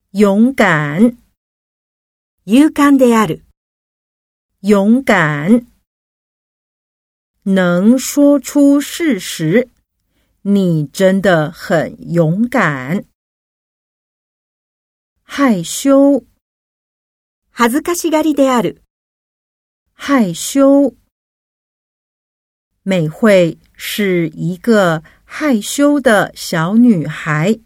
勇敢。 勇敢である。 勇敢。能说出事实，你真的很勇敢。害羞。 恥ずかしがりである。 害羞。美惠是一个害羞的小女孩。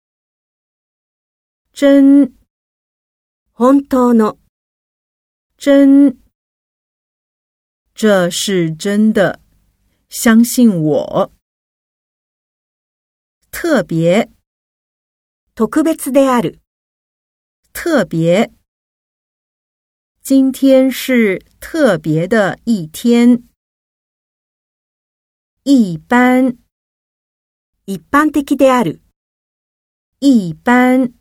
真。 本当の。 真。这是真的，相信我。特别。 特別である。 特別。今天是特别的一天。一般。 一般的である。 一般。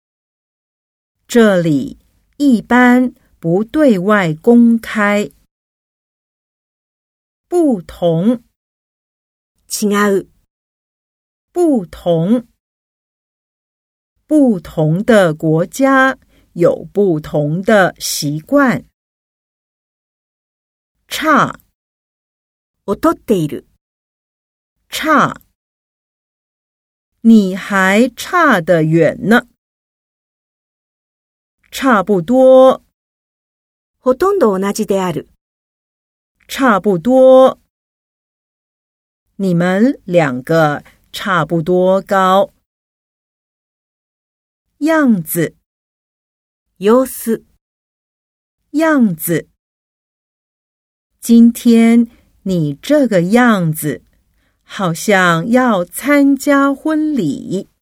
这里一般不对外公开。不同。 違う。 不同。不同的国家有不同的习惯。差。 劣っている。 差。你还差得远呢。差不多。 ほとんど同じである。 差不多。你们两个差不多高。样子。 様子。 样子。今天你这个样子，好像要参加婚礼。